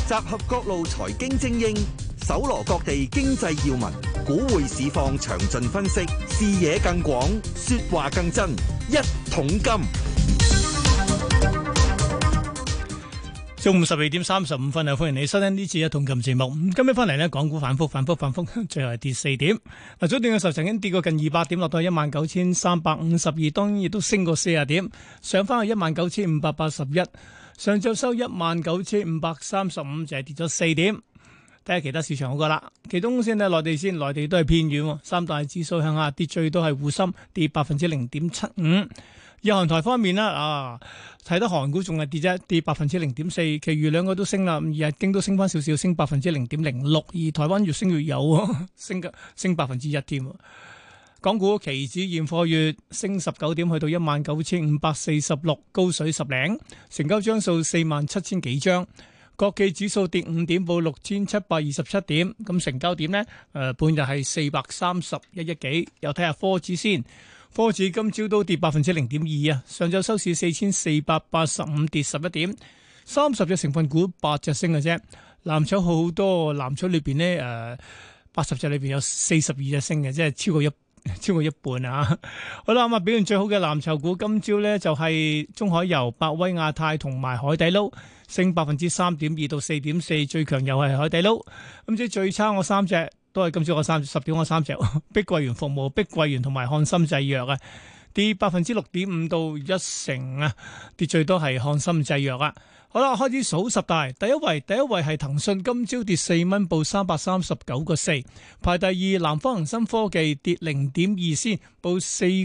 集合各路財經精英，搜羅各地經濟要聞，股匯市況詳盡分析，視野更廣，說話更真。一桶金， 中午12:35啊！歡迎你收聽呢次一桶金節目。今日翻嚟呢，港股反覆，最後係跌4點。嗱，早段嘅時候曾經跌過近200點，落到19,352，當然亦都升過40點，上翻去19,581。上晝收19,535，就係跌咗4點。睇下其他市場好過啦。其中先睇內地先，內地都係偏軟，三大指數向下跌，最多係滬深跌0.75%。日韓台方面啦，睇得韓股仲係跌啫，跌0.4%，其餘兩個都升啦。日經都升翻少少，升0.06%，而台灣越升越有，升1%添。港股期指現貨月升19點，去到19,546，高水10零，成交張數47,000幾張。國企指數跌5點，報6,727點。咁成交點呢？半日係431億幾。又睇下科指先，科指今朝都跌0.2%啊。上晝收市4,485，跌11點。30隻成分股8隻升嘅啫。藍籌好多，藍籌裏邊呢，80隻裏邊有42隻升嘅，即係超過一半啊！好啦，咁啊表現最好嘅藍籌股今朝咧就係中海油、百威亞太同埋海底撈，升3.2%到4.4%，最強又係海底撈。咁即係最差我三隻都係今朝我10點我三隻，碧桂園服務、碧桂園同埋漢森製藥啊，跌6.5%到1%啊，跌最多係漢森製藥啊。好啦，開始數十大，第一位係騰訊，今朝跌4蚊，報339.4。排第二，南方恒生科技跌0.2先，報4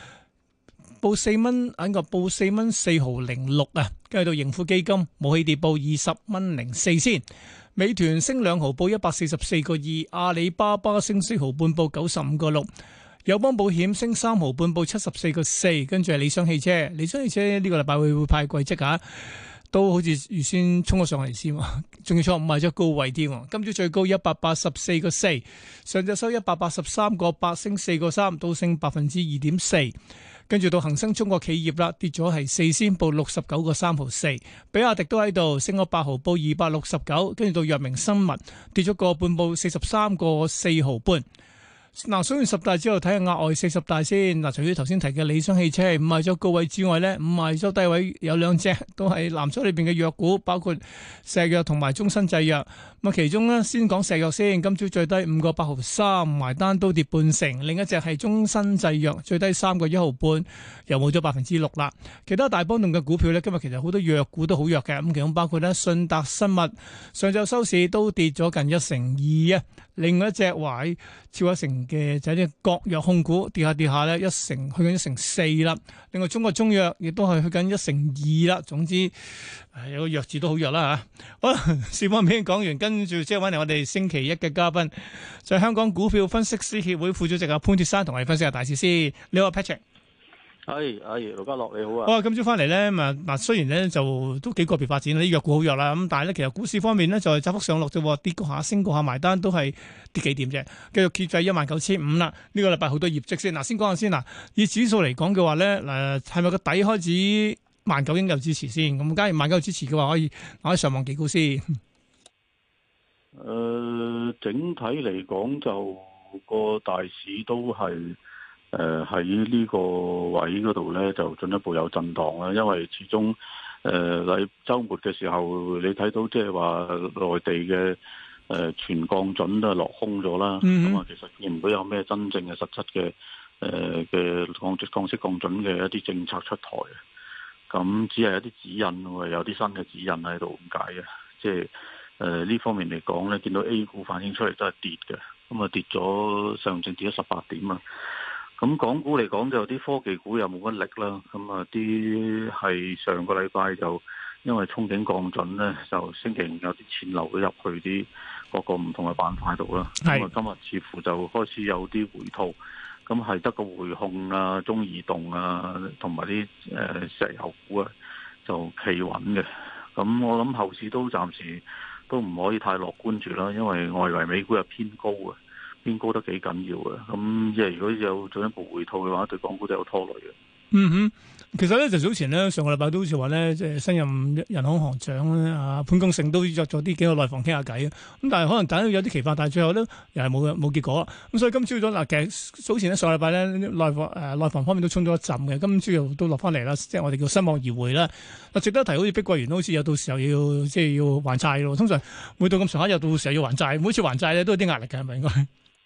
蚊，報4蚊4毫06啊。跟住到盈富基金冇起跌，報20蚊04先。美團升2毫，報144.2。阿里巴巴升4毫半，報95.6。友邦保險升3毫半，報74.4。跟住係理想汽車呢個禮拜會派季績啊。都好似預先衝咗上嚟先，仲要錯誤賣咗高位添。今朝最高184.4，上晝收183.8，升4.3，都升2.4%。跟住到恒生中國企業啦，跌咗係4仙，報69.3毫4。比亞迪都喺度升咗8毫，報269。跟住到藥明生物跌咗個半，報43.4毫半。嗱，數完十大之後，睇下額外40大先。嗱，除咗頭先提嘅理想汽車唔賣咗高位之外咧，唔賣咗低位有兩隻都係藍籌裏邊嘅藥股，包括石藥同埋中生製藥。咁啊，其中咧先講石藥先，今朝最低5.8毫3，埋單都跌半成。另一隻係中生製藥，最低3.1毫半，又冇咗6%啦。其他大波動嘅股票咧，今日其實好多藥股都好弱嘅。咁其中包括咧信達生物，上晝收市都跌咗近1成2啊。另外一隻話超1成嘅就係啲國藥控股，跌下咧1成，去緊1.4%啦。另外中國中藥亦都係去緊1.2%啦。總之有個藥字都好弱啦嚇。好啦，市況片講完，跟住即係揾嚟我哋星期一嘅嘉賓，就係香港股票分析師協會副主席阿潘鐵珊，同我哋分析下大市先。你好 Patrick。 係，盧家樂你好啊！ 好啊，今朝翻嚟咧，嗱雖然咧就都幾個別發展，啲藥股好弱啦，咁但係咧其實股市方面咧就係窄幅上落啫，跌過下升過下，埋單都係跌幾點啫，繼續貼喺19,500啦。呢個禮拜好多業績先，先講下先嗱。以指數嚟講嘅話咧，係咪個底開始19,000應有支持先？咁假如19,000有支持嘅話，可以上望幾高先？ 整體嚟講就個大市都係。喺呢個位嗰度咧，就進一步有震盪啦。因為始終週末嘅時候，你睇到即係話內地嘅全降準都係落空咗啦。咁啊，其實見唔到有咩真正嘅實質嘅降息降準嘅一啲政策出台嘅。咁只係一啲指引喎，有啲新嘅指引喺度咁解嘅。即係呢方面嚟講咧，見到 A 股反映出嚟都係跌嘅。咁啊，跌咗上證跌咗18點啊。咁港股嚟講就有啲科技股又冇乜力啦，咁啊啲係上個禮拜就因為憧憬降準咧，就星期五有啲錢流咗入去啲各個唔同嘅板塊度啦。咁啊今日似乎就開始有啲回吐，咁係得個匯控啊、中移動啊同埋啲石油股啊就企穩嘅。咁我諗後市都暫時都唔可以太樂觀住啦，因為外圍美股又偏高啊。偏高得幾緊要嘅，咁即係如果有進一步回吐嘅話，對港股都有拖累嘅。 嗯哼。其實咧就早前咧上個禮拜都好似話咧，即係新任人行行長咧潘功勝都約咗啲幾個內房傾下偈，咁但係可能大家有啲期盼，但係最後咧又係冇結果。咁所以今朝早嗱，其實早前咧上個禮拜咧內房方面都衝咗一陣嘅，今朝又都落翻嚟啦，即係我哋叫失望而回啦。嗱，值得提好似碧桂園都好似有到時候要還債咯，通常每到咁上下又到時候要還債，每次還債咧都有啲壓力嘅，係咪應該？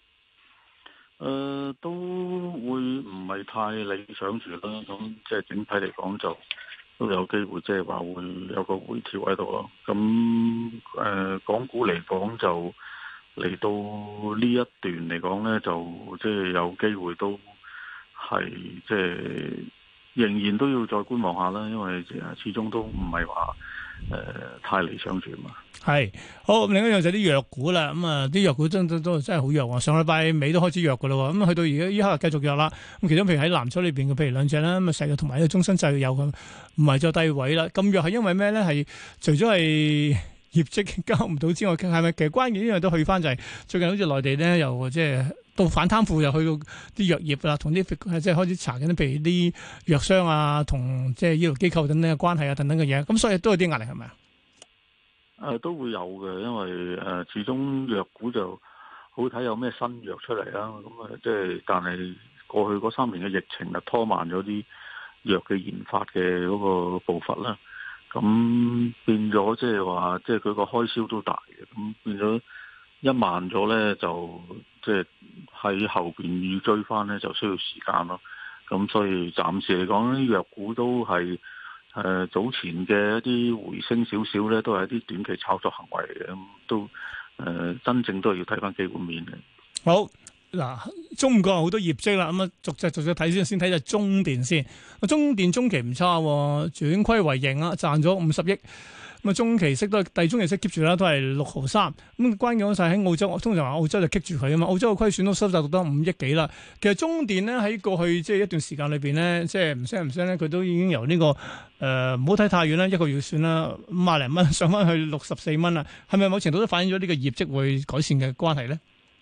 都會唔係太理想住啦，咁即係整體嚟講就都有機會，即係話會有個回調喺度咯。咁港股嚟講就嚟到呢一段嚟講呢，就即係有機會都係即係仍然都要再觀望下啦，因為始終都唔係話太理想住嘛。 係好，另一樣就係啲藥股啦，咁啊啲藥股真係好弱啊！上禮拜尾都開始弱噶啦，咁去到而家依刻繼續弱啦。咁其中譬如喺藍籌裏邊嘅，譬如兩隻啦，咁啊石藥同埋呢個中生製藥咁，唔係就低位啦。咁弱係因為咩咧？係除咗係業績交唔到之外，係咪其實關鍵呢樣都去翻就係最近好似內地咧又即係到反貪腐，又去到啲藥業啦，同啲即係開始查緊，譬如啲藥商啊，同即係醫療機構等等嘅關係啊，等等嘅嘢。咁所以都有啲壓力係咪啊？ 都會有嘅，因為始終藥股就好睇有咩新藥出嚟啦。咁即係但係過去嗰3年嘅疫情啊，拖慢咗啲藥嘅研發嘅嗰個步伐啦。咁變咗即係話，即係佢個開銷都大嘅。咁變咗一慢咗咧，就即係喺後邊要追翻咧，就需要時間咯。咁所以暫時嚟講，啲藥股都係。早前嘅一啲回升少少咧，都係一啲短期炒作行為嘅，咁都真正都係要睇翻基本面嘅。 好嗱，中午講好多業績啦，咁啊逐隻睇先睇就中電先。中電中期唔差，轉虧為盈啊，賺咗50億。咁啊，中期息都係第中期息 keep 住啦，都係6.3。咁關鍵嗰晒喺澳洲，通常話澳洲就 keep 住佢啊嘛。澳洲嘅虧損都收窄到得5億幾啦。其實中電咧喺過去即係一段時間裏邊咧，即係唔聲咧，佢都已經由呢個唔好睇太遠啦，一個月算啦，50零蚊上翻去64蚊啦。係咪某程度都反映咗呢個業績會改善嘅關係咧？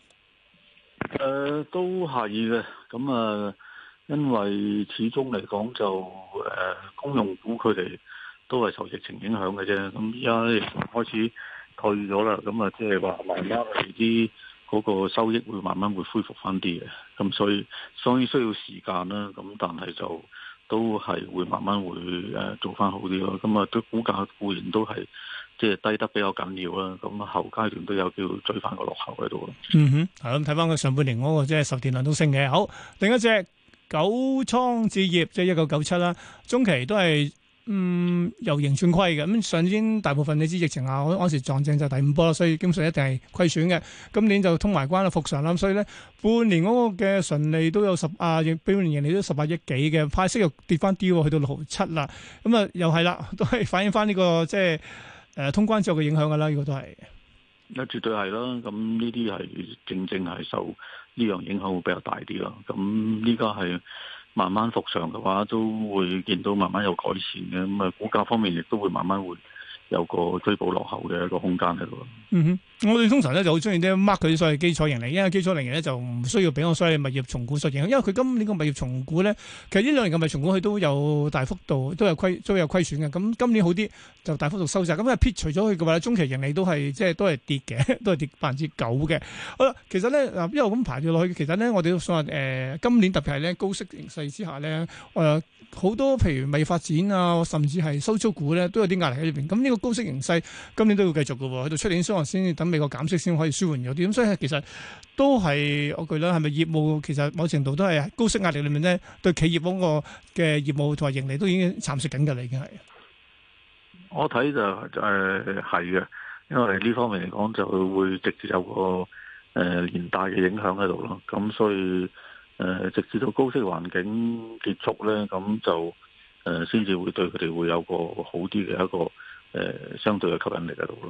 都係嘅。咁因為始終嚟講就公用股佢哋都係受疫情影響嘅啫，咁而家疫情開始退咗啦，咁即係話慢慢啲嗰個收益會慢慢會恢復翻啲嘅，咁所以需要時間啦，咁但係就都係會慢慢會做翻好啲咯，咁對股價固然都係即係低得比較緊要啦，咁後階段都有機會追翻個落後喺度咯。 嗯哼，係咁睇翻佢上半年嗰個即係售電量都升嘅。好，另一隻九倉置業即係1997啦，中期都係。由盈轉虧嘅，咁上年大部分你知疫情下，嗰時撞正就第5波啦，所以基本上一定係虧損嘅。今年就通埋關啦，復常啦，所以咧半年嗰個嘅純利都有半年盈利都18億幾嘅，派息又跌翻啲，去到6.7啦。咁啊又係啦，都係反映翻呢個即係通關之後嘅影響噶啦，呢個都係。 絕對係啦，咁呢啲係正係受呢樣影響會比較大啲咯。咁呢個係。慢慢復常嘅話，都會見到慢慢有改善嘅，咁股價方面亦都會慢慢會有個追補落後嘅一個空間喺度。 我哋通常咧就好中意啲 mark 佢所謂基礎盈利，因為基礎盈利咧就唔需要俾我所謂物業重估所影響，因為佢今年個物業重估咧，其實呢兩年嘅物業重估佢都有大幅度都有虧損嘅，咁今年好啲就大幅度收窄，咁撇除咗佢嘅話，中期盈利都係都係跌嘅，都係跌9%嘅。好啦，其實咧一路咁排住落去，其實咧我哋都想話今年特別係咧高息形勢之下咧，好多譬如物業發展啊，甚至係收租股咧都有啲壓力喺裏邊。咁呢個高息形勢今年都要繼續嘅喎，去到出年可能先等美國減息先可以舒緩咗啲。咁所以其實都係我覺得係咪業務其實某程度都係高息壓力裏面咧，對企業嗰個嘅業務同埋盈利都已經蠶食緊㗎啦，已經係。 我睇就係嘅，因為呢方面嚟講就會直接有個連帶嘅影響喺度咯。咁所以直至到高息環境結束咧，咁就先至會對佢哋會有個好啲嘅一個相對嘅吸引力喺度咯。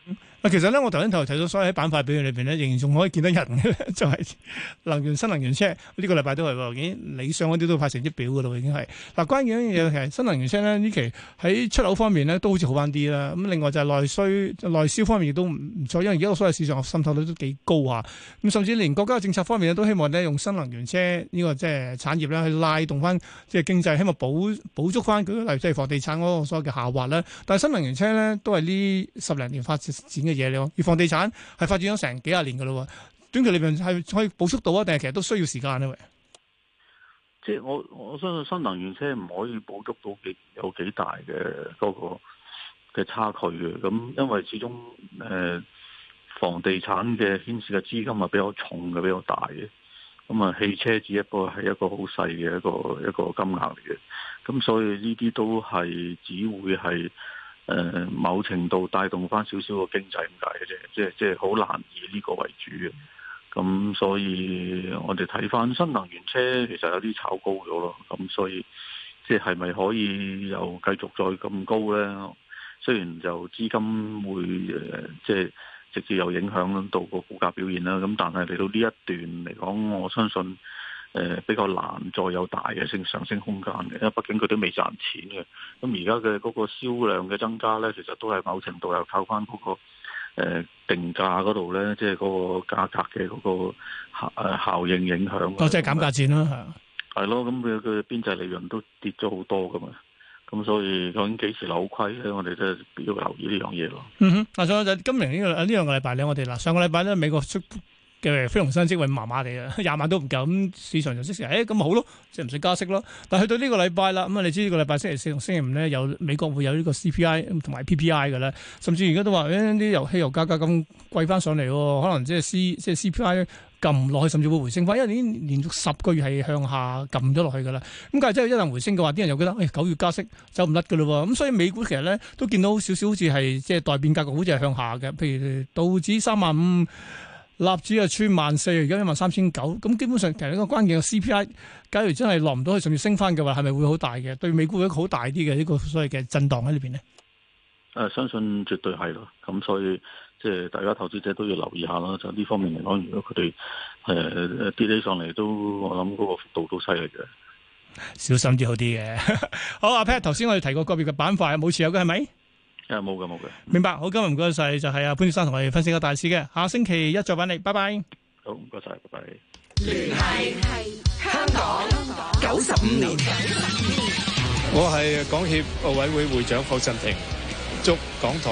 其實咧，我頭先睇到所有喺板塊表現裏邊咧，仍然仲可以見到人嘅，就係新能源車呢個禮拜都係喎，已經理想嗰啲都派成績表噶啦，已經係嗱。關鍵一樣嘢係新能源車咧，呢期喺出口方面咧都好似好翻啲啦。咁另外就係內銷方面亦都唔錯，因為而家個所有市場滲透率都幾高啊。咁甚至連國家嘅政策方面咧都希望咧用新能源車呢個即係產業咧去拉動翻即係經濟，希望補足翻舉例即係房地產嗰個所謂嘅下滑啦。但係新能源車咧都係呢10零年發展嘅嘢嚟，而房地產係發展咗成幾廿年噶咯，短期裏邊係可以補足到啊，定係其實都需要時間咧？喂， 即係我相信新能源車唔可以補足到有幾大嘅嗰個嘅差距嘅，咁因為始終房地產嘅牽涉嘅資金係比較重嘅，比較大嘅，咁啊汽車只係一個好細嘅一個金額嚟嘅，咁所以呢啲都係只會係。某程度帶動翻少少個經濟咁解嘅啫，即係好難以呢個為主嘅。咁所以我哋睇翻新能源車其實有啲炒高咗咯。咁所以即係咪可以又繼續再咁高呢？雖然就資金會即係直接有影響到個股價表現啦。咁但係嚟到呢一段嚟講，我相信。比較難再有大嘅上升空間嘅，因為畢竟佢都未賺錢嘅。咁而家嘅嗰個銷量嘅增加呢，其實都係某程度又靠翻嗰個定價嗰度呢，即係嗰個價格嘅嗰個效應影響。 哦，即係減價戰啦， 係咯，咁佢邊際利潤都跌咗好多噶嘛。咁所以究竟幾時扭虧咧？我哋都要留意呢樣嘢咯。 嗱，仲有就今年呢兩個禮拜咧，我哋嗱上個禮拜咧美國出嘅非農新職位麻麻地啊，20萬都唔夠，咁市場就即時咁咪好咯，即係唔使加息咯。但係去到呢個禮拜啦，咁你知呢個禮拜星期四同星期五咧，有美國會有呢個 CPI 同埋 PPI 嘅咧，甚至而家都話啲汽油價格咁貴翻上嚟，可能即係 CPI 撳唔落去，甚至會回升翻，因為已經連續10個月係向下撳咗落去噶啦。咁但係真係一旦回升嘅話，啲人又覺得9月加息走唔甩噶咯喎。咁所以美股其實咧都見到少少好似係即係待變格局，好似係向下嘅。譬如道指35000。納指啊穿14000，而家13900，咁基本上其實呢個關鍵嘅 CPI，假如真係落唔到去，甚至升翻嘅話，係咪會好大嘅？對美股一個好大啲嘅呢個所謂嘅震盪喺裏邊呢？ 相信絕對係咯。咁所以即係大家投資者都要留意下啦。就呢方面嚟講，如果佢哋跌起上嚟，都我諗嗰個幅度都犀利嘅。 小心啲好啲嘅。好，阿 Pat，頭先我哋提過個別嘅板塊冇持有嘅係咪？ 冇嘅。 明白，好，今日唔該晒，就係阿潘先生同我哋分析個大市嘅，下星期一再揾你，拜拜。 好，唔該晒，拜拜。 聯繫香港95年， 我係港協奧委會會長霍震霆，祝港台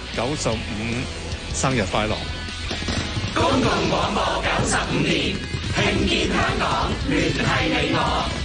95生日快樂。 公共廣播95年，聽見香港，聯繫你我。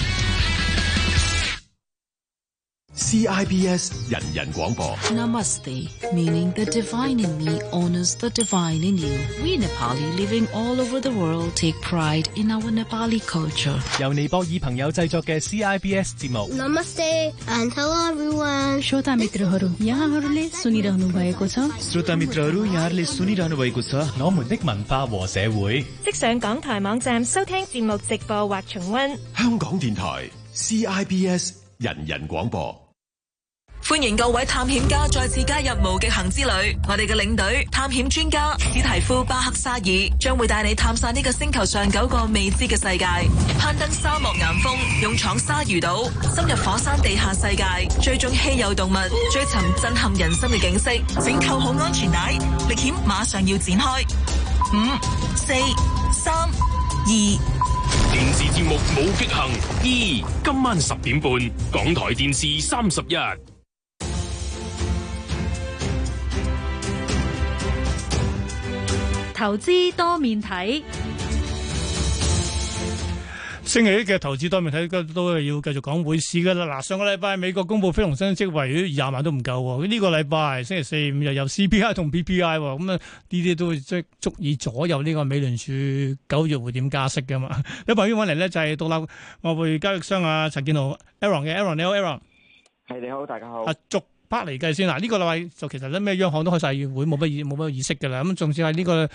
CIBS 人人廣播 Namaste, meaning the divine in me honors the divine in you. We Nepali living all over the world take pride in our Nepali culture. 由尼泊爾朋友製作嘅 CIBS 節目 Namaste and hello everyone. श्रोता मित्रहरू यहाँहरूले सुनिरहनु भएको छ श्रोता मित्रहरू यहाँहरूले सुनिरहनु भएको छ我們的文化和社會即上港台網站收聽節目直播或重溫。 香港電台 CIBS 人人廣播。 歡迎各位探險家再次加入無極行之旅，我哋嘅領隊探險專家史提夫巴克沙爾將會帶你探索呢個星球上9個未知嘅世界，攀登沙漠岩峰，勇闖鯊魚島，深入火山地下世界，追蹤稀有動物，追尋震撼人心嘅景色。請扣好安全帶，歷險馬上要展開。5、4、3、2。 電視節目無極行2，今晚10點半，港台電視31。 投資多面睇， 星期一嘅投資多面睇都係要繼續講匯市噶啦。嗱，上個禮拜美國公布非農新職位20萬都唔夠，呢個禮拜星期四、5又有 CPI 同 PPI， 咁啊呢啲都即係足以左右呢個美聯儲9月會點加息噶嘛。有朋友揾嚟呢，就係獨立外匯交易商啊陳建豪 Aaron 嘅 Aaron， 你好 Aaron。 係你好，大家好。 逐 part 嚟計先嗱，呢個禮拜就其實咧咩央行都開晒會，冇乜意識噶啦。咁仲要係呢個